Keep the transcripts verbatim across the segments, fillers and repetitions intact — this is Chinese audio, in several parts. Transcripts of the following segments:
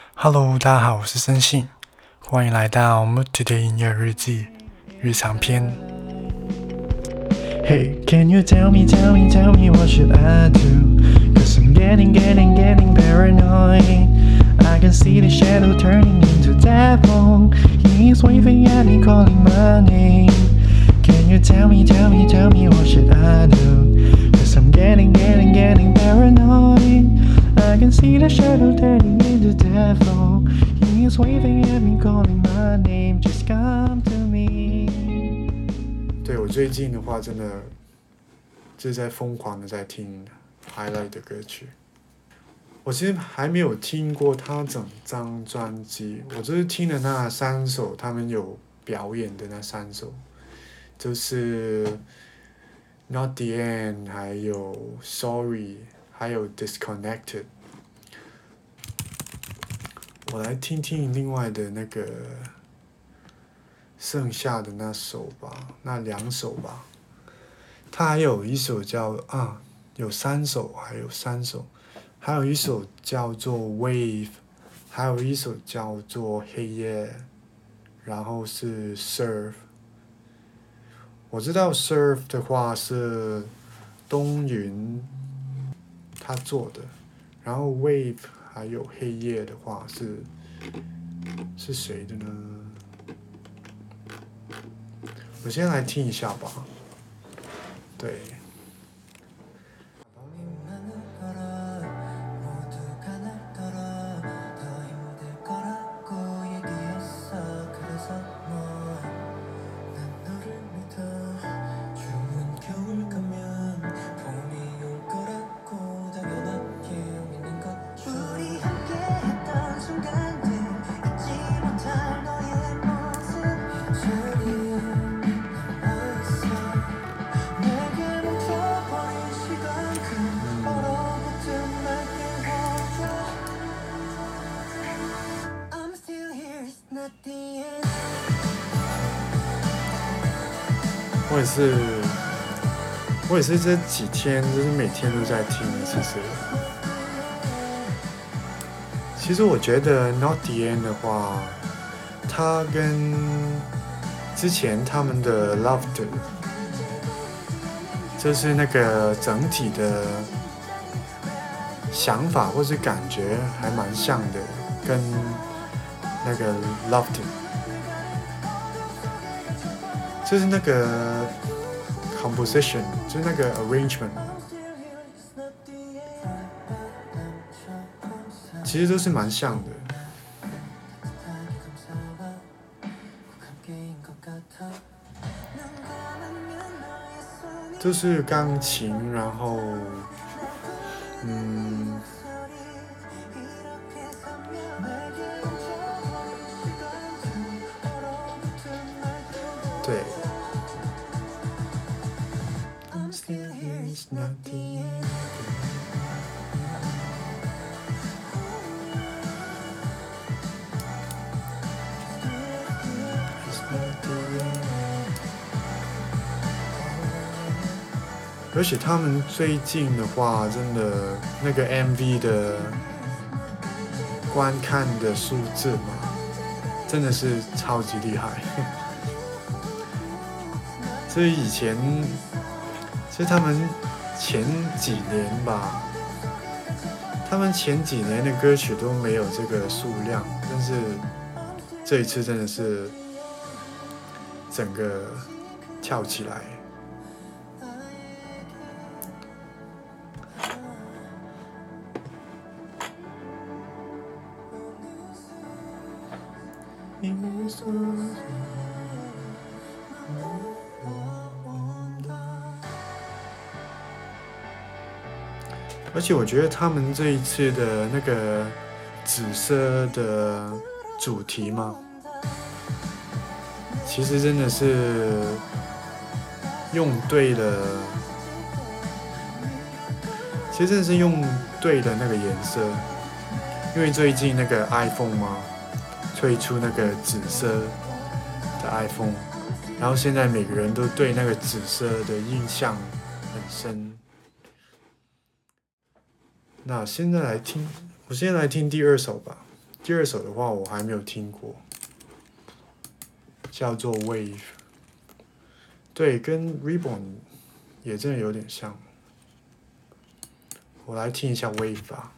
Hello，大家好，我是森信，欢迎来到 Mood Today 音乐日记日常篇。Hey, can you tell me, tell me, tell me what should I do? Cause I'm getting, getting, getting paranoid. I can see the shadow turning into devil. He's waving at me, calling my name. Can you tell me, tell me, tell me what should I do? Cause I'm getting, getting, getting paranoid. I can see the shadow turning into devil. He's waving at me, calling my name. Just come to me. 对，我最近的话，真的就是在疯狂的在听 Highlight 的歌曲。我其实还没有听过他整张专辑，我就是听了那三首他们有表演的那三首，就是 Not the End， 还有 Sorry， 还有 Disconnected。我来听听另外的那个剩下的那首吧，那两首吧。他还有一首叫啊，有三首，还有三首，还有一首叫做 Wave， 还有一首叫做黑夜，然后是 Surf。我知道 Surf 的话是东云他做的，然后 Wave 还有黑夜的话是是谁的呢？我先来听一下吧。对。我也是，我也是这几天就是每天都在听，其实。其实我觉得 Not the End 的话，它跟之前他们的 Loved， 就是那个整体的想法或是感觉还蛮像的，跟那个 Loved。就是那个 composition， 就是那个 arrangement， 其实都是蛮像的。就是钢琴，然后，嗯。对。而且他们最近的话，真的那个 M V 的观看的数字嘛，真的是超级厉害。所以以前，其实他们前几年吧，他们前几年的歌曲都没有这个数量，但是这一次真的是整个跳起来。而且我觉得他们这一次的那个紫色的主题嘛，其实真的是用对了，其实真的是用对了那个颜色，因为最近那个 iPhone 嘛，推出那个紫色的 iPhone， 然后现在每个人都对那个紫色的印象很深。那现在来听，我现在来听第二首吧， 第二首的话我还没有听过，叫做 Wave， 对，跟 Reborn 也真的有点像。我来听一下 Wave 吧。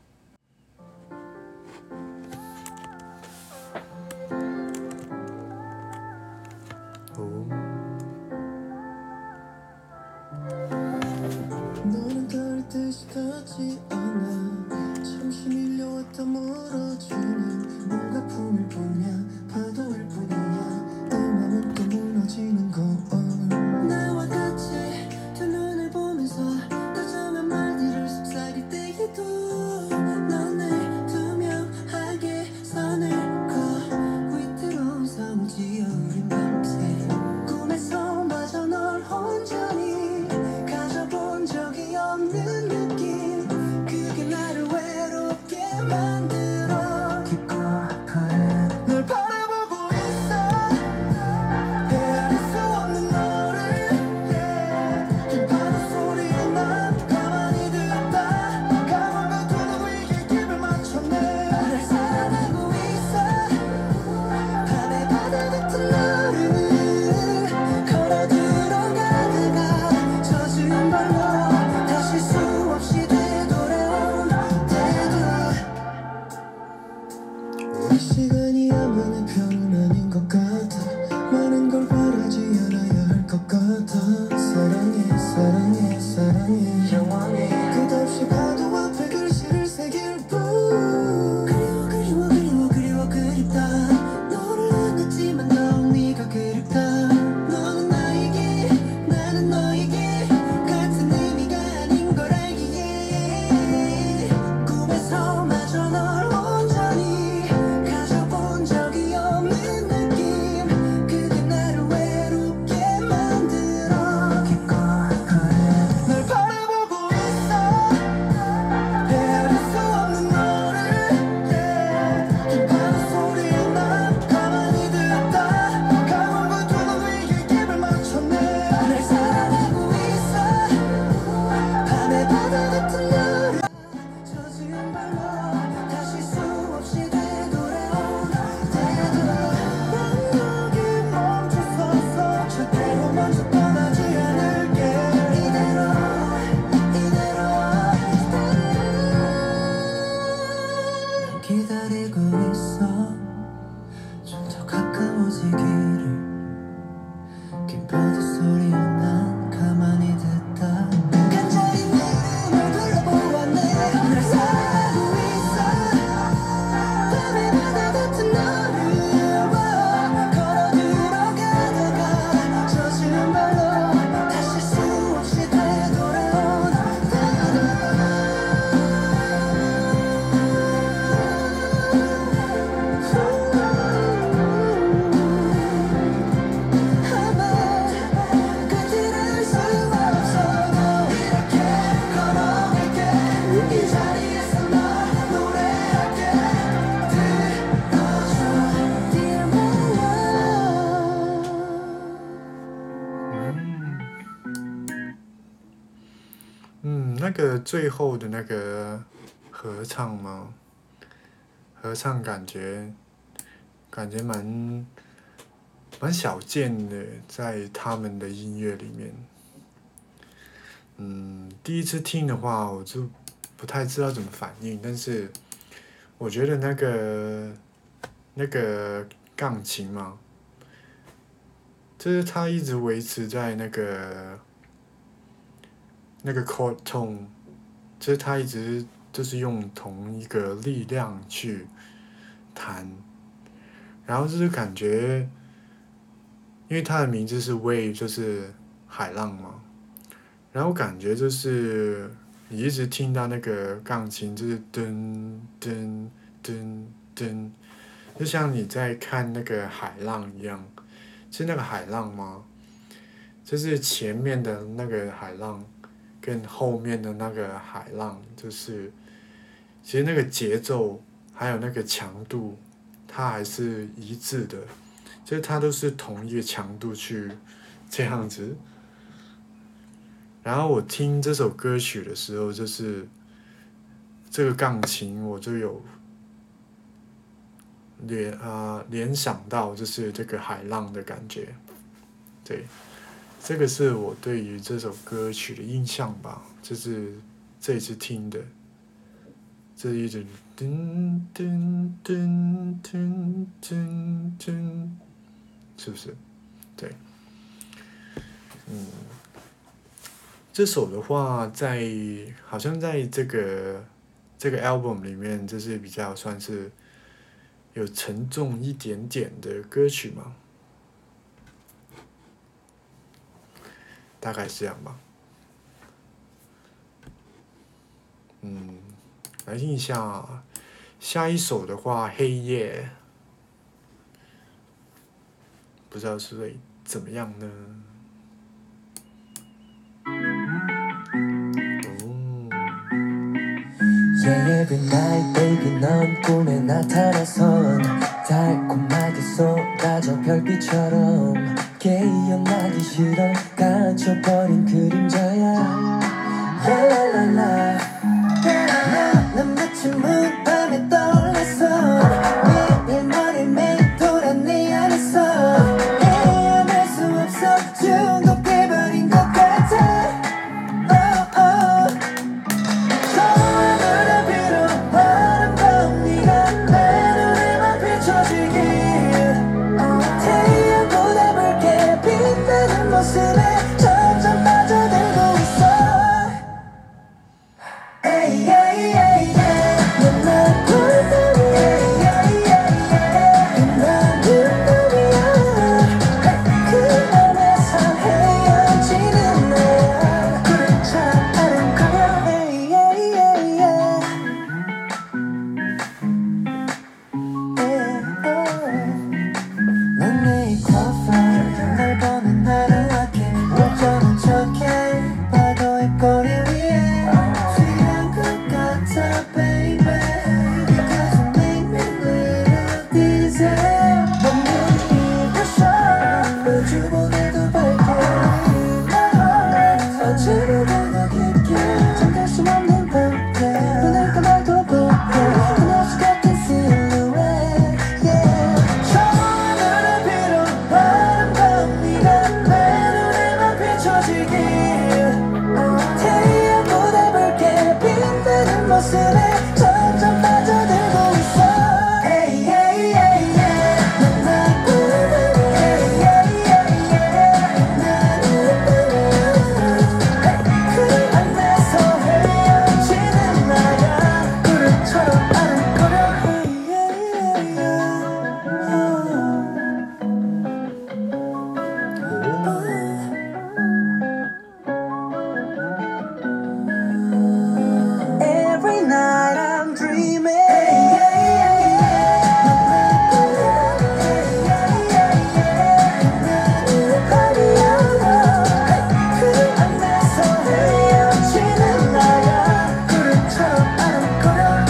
嗯，那个最后的那个合唱吗？合唱感觉感觉蛮蛮少见的，在他们的音乐里面。嗯，第一次听的话，我就不太知道怎么反应，但是我觉得那个那个钢琴嘛，就是它一直维持在那个那个 chord tone， 就是它一直就是用同一个力量去弹，然后就是感觉，因为它的名字是 wave， 就是海浪嘛，然后感觉就是你一直听到那个钢琴就是噔噔噔噔，就像你在看那个海浪一样，是那个海浪吗？就是前面的那个海浪跟后面的那个海浪，就是其实那个节奏还有那个强度，它还是一致的，就是它都是同一个强度去这样子。然后我听这首歌曲的时候，就是这个钢琴我就有联啊、呃、联想到就是这个海浪的感觉，对，这个是我对于这首歌曲的印象吧，就是这一次听的，这一直噔噔噔噔噔噔，是不是？对，嗯，这首的话在好像在这个这个 album 里面，这是比较算是有沉重一点点的歌曲嘛，大概是这样吧。嗯，来听一下下一首的话，《黑夜》，不知道是会怎么样呢？哦。 Yeah, every night, baby, 넌 꿈에 나타나선 달콤하게 쏟아져 별빛처럼 깨어나기 싫어 갇혀버린 그림자야 라라라라 난 마치 문밤에 떠올랐어 매일 머리 매일 돌아 네 안에서 헤어날 수 없어 중독돼버린 것 같아 oh, oh. 좋아 눈앞으로 아름다운 네가 내 눈에만 비춰지길 태양보다 붉게 빛나는 모습에 점점 빠져들고 있어 Ay, ay, ay, ay. 넌 날 불러내 ay, ay, ay. 난 눈물이야 그 안에서 헤어지는 나야 구름처럼 아른거려 ay, ay, ay, ay. Yeah, oh. 넌 내일 커버 널 보는 하루하게 어쩌는 척해 파도의 꼬리 위에 취한 것 같아 baby Because you make me little dizzy 넌 눈이 부셔 우주보다도 밝게 어찌보다도 깊게 잠들 수 없는 밤에 눈을 감아도 보게 그녀수 같은 silhouette yeah 좋아 눈앞으로 아름다운 네가 내 눈에만 비춰지길 태양보다 붉게 빛나는 모습에 점점 빠져들고 있어 Ay, ay, ay, ay. 넌 날 불러내 Ay, ay, ay, ay. 난 눈물이야 그 안에서 헤어지는 나야 구름처럼 아른거려 Ay, ay, ay, ay. Every night I'm dreaming 그 안에서 헤어지는 나야 구름처럼 아른거려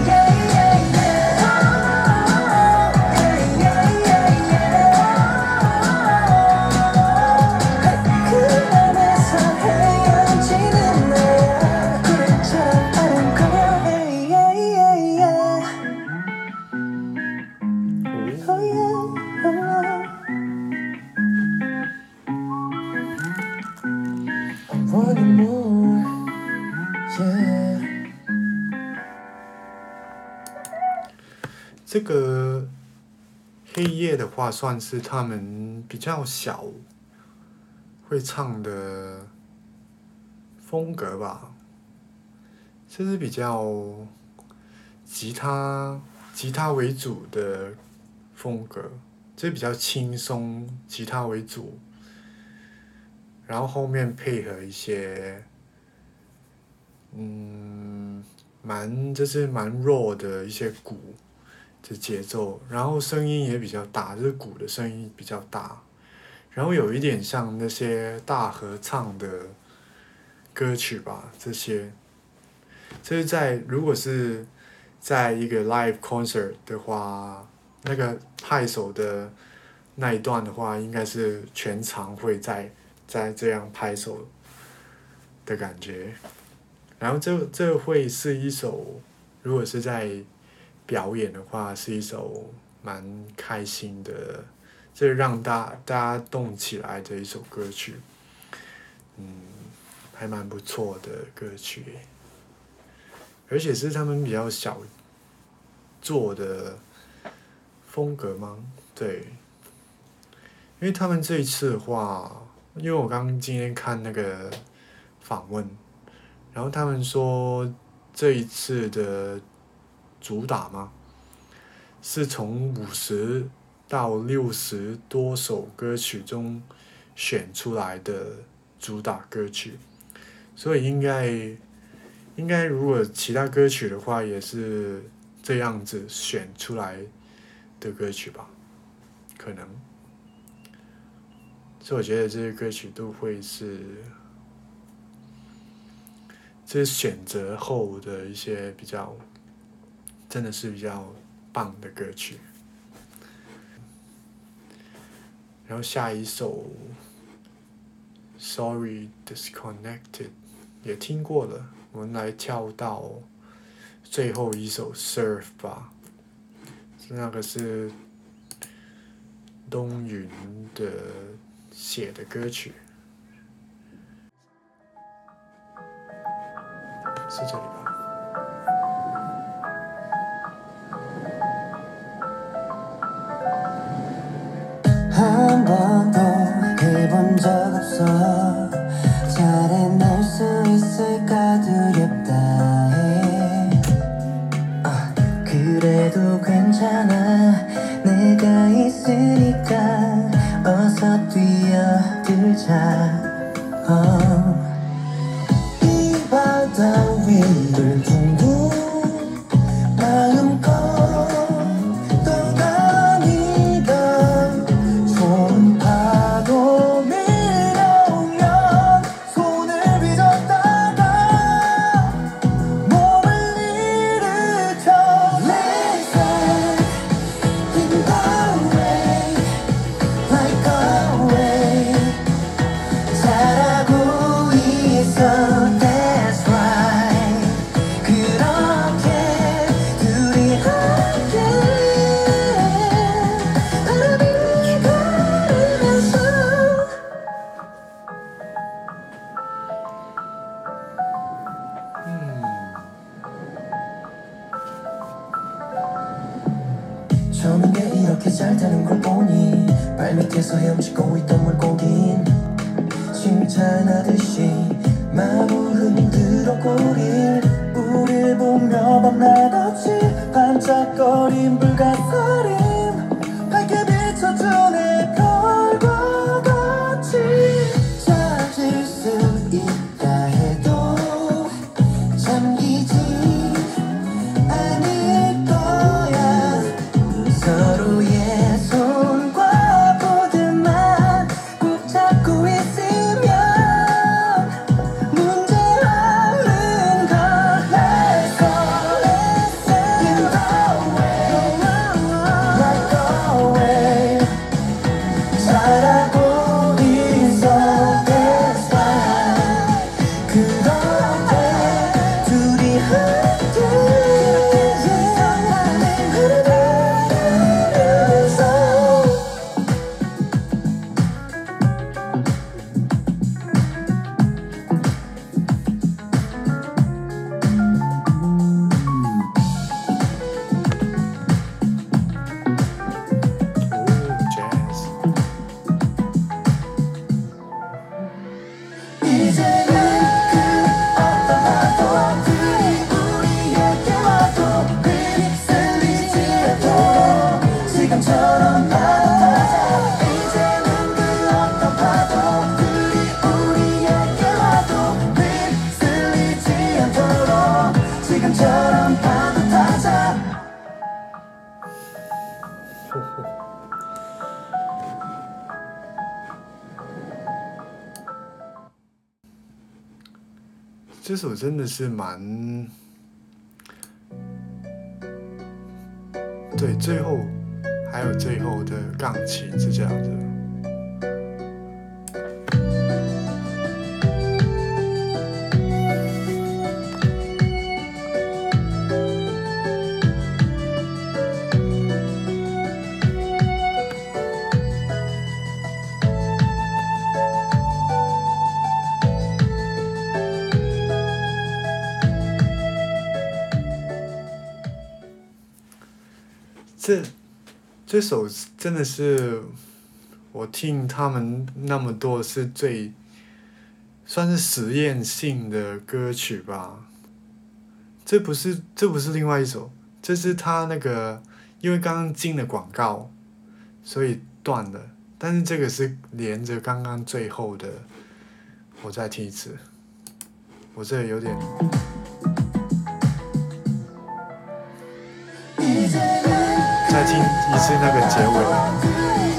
그 안에서 헤어지는 나야 구름처럼 아른거려 Oh yeah, oh. I'm wanting more, yeah. 这个黑夜的话，算是他们比较小会唱的风格吧，这是比较吉他吉他为主的风格，这比较轻松，吉他为主，然后后面配合一些嗯蛮就是蛮弱的一些鼓的节奏，然后声音也比较大，就是鼓的声音比较大，然后有一点像那些大合唱的歌曲吧，这些，这是在如果是在一个 live concert 的话，那个拍手的那一段的话，应该是全场会在在这样拍手的感觉，然后这这会是一首，如果是在表演的话，是一首蛮开心的，这让大大家动起来的一首歌曲，嗯，还蛮不错的歌曲，而且是他们比较小做的风格吗？对，因为他们这一次的话，因为我刚刚今天看那个访问，然后他们说这一次的主打吗？是从五十到六十多首歌曲中选出来的主打歌曲，所以应该应该如果其他歌曲的话，也是这样子选出来的歌曲吧，可能。所以我觉得这些歌曲都会是，这是选择后的一些比较，真的是比较棒的歌曲。然后下一首，Sorry Disconnected 也听过了，我们来跳到最后一首 Surf 吧，那个是东云的写的歌曲，是这里吧？ 한 번도 해본 적 없어 잘 해낼 수 있을까 두렵다 해 아, 그래도 괜찮아 내가 있으니까 어서 뛰어들자 어. 이 바다 위를 둥둥 마음껏 저는 게 이렇게 잘 타는 걸 보니 발밑에서 헤엄치고 있던 물고긴 칭찬하듯이 마구 흔들어꼬릴 우릴 보며 밤낮없이 반짝거린 불가사림 밝게 비춰주네 별과 같이 찾을 수 있다 해도 잠기지 않을 거야 서로의 손과 보드만 꼭 잡고 있으면 문제 없는 걸 Let's go, let's sail in the way Like always 잘하고 있어 That's why 그런데 둘이 함께 이제는 그 어떤 파도들이 우리에게 와도 휩쓸리지 않도록 지금처럼 받아들자 이제는 그 어떤 파도들이 우리에게 와도 휩쓸리지 않도록 지금처럼 받아들자 这首真的是蛮，对，最后还有最后的钢琴是这样子。 这这首真的是我听他们那么多是最算是实验性的歌曲吧。这不是这不是另外一首，这是他那个因为刚刚进了广告，所以断了。但是这个是连着刚刚最后的，我再听一次。我这有点。再听一次那个结尾。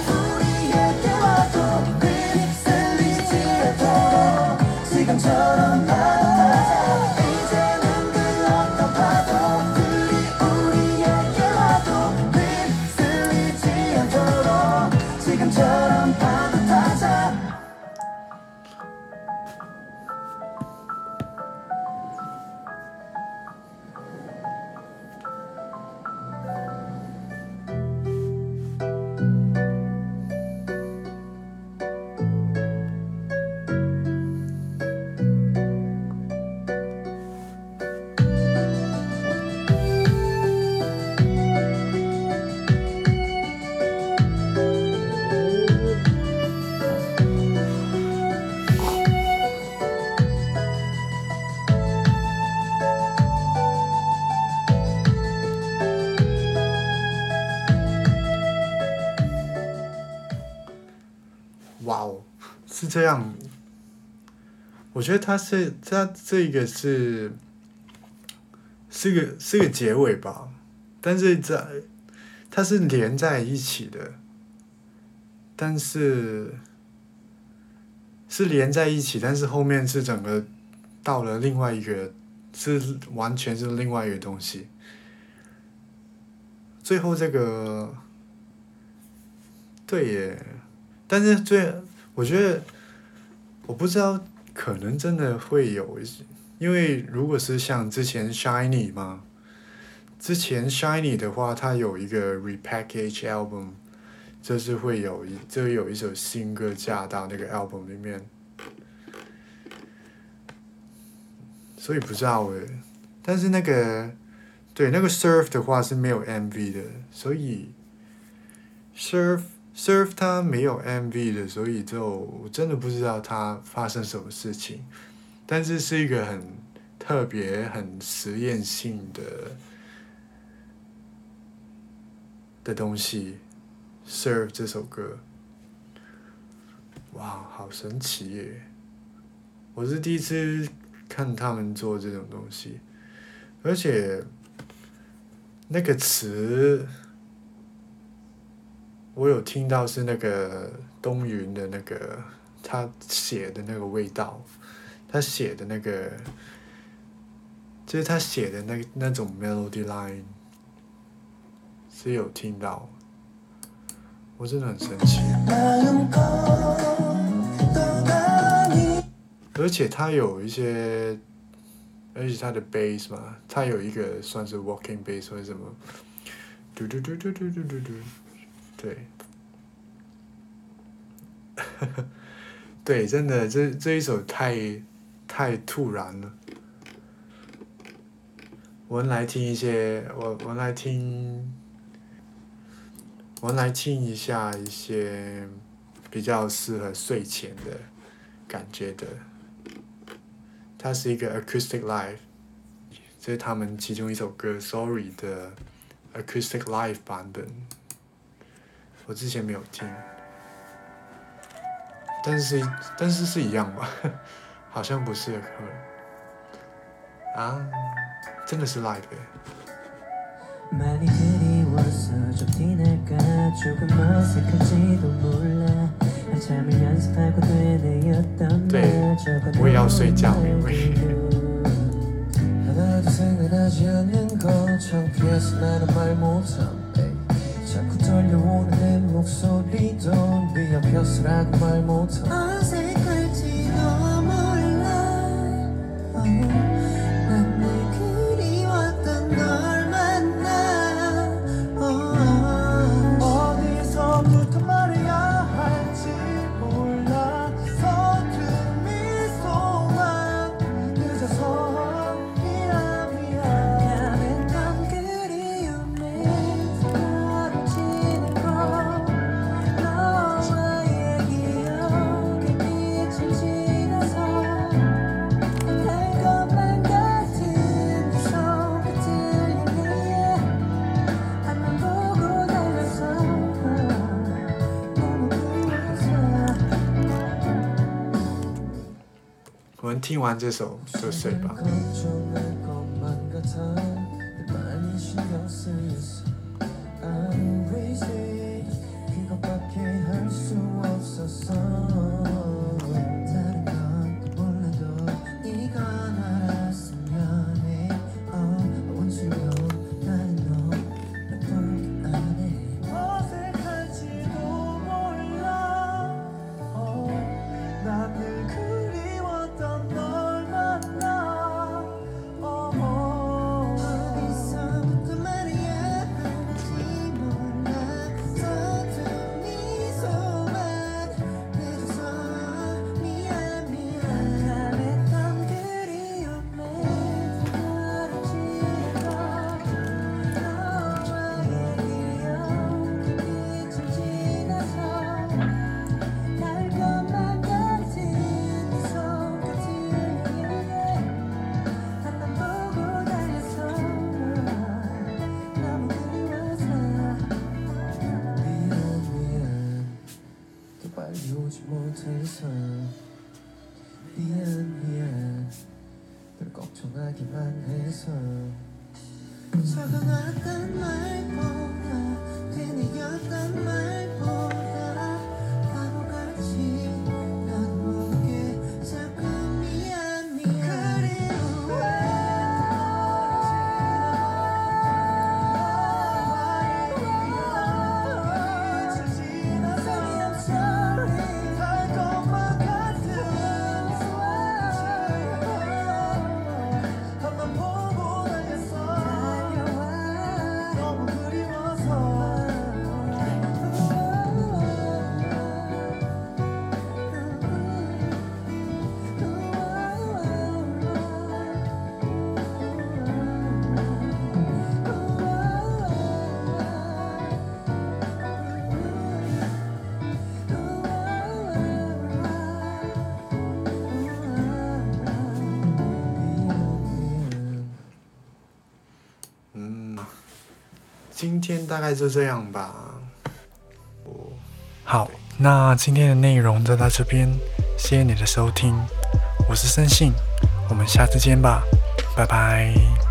哇哦，是这样。我觉得它是它这个是是个是个结尾吧，但是在它是连在一起的，但是是连在一起，但是后面是整个到了另外一个，是完全是另外一个东西。最后这个，对耶。但是最，我觉得，我不知道，可能真的会有，因为如果是像之前 Shiny 嘛，之前 Shiny 的话，它有一个 repackage album， 就是会有一，就有一首新歌加到那个 album 里面，所以不知道诶，但是那个，对，那个 Surf 的话是没有 M V 的，所以 Surf。Surf 它没有 M V 的，所以就我真的不知道它发生什么事情，但是是一个很特别、很实验性的的东西。Surf 这首歌，哇，好神奇耶！我是第一次看他们做这种东西，而且那个词。我有听到是那个东云的那个他写的那个味道，他写的那个，就是他写的那那种 melody line， 是有听到，我真的很生气。而且他有一些，而且他的 bass 嘛，他有一个算是 walking bass 或者什么，嘟嘟嘟嘟嘟嘟嘟嘟。对，对，真的，这这一首太太突然了。我们来听一些，我我们来听，我们来听一下一些比较适合睡前的感觉的。它是一个 acoustic live， 这是他们其中一首歌《Sorry》的 acoustic live 版本。我之前没有听，但是但是是一样吧，好像不是啊，真的是 live 耶。对，我也要睡觉，因为。 자꾸 떨려오는 내 목소리도 네 앞이었으라고 말 못함 어색할지도 몰라 난 늘 그리웠던 널 만나 어디서부터 말해야 할지 몰라 서툰 미소만 늦어서 미안 미안 미안했던 그리움에 听完这首就睡吧。차가웠던 말보다 괜히였던 말보다 바보같이 나도 모르게 자꾸 미안 미안 그리워今天大概就这样吧。好，那今天的内容就到这边，谢谢你的收听，我是森信，我们下次见吧，拜拜。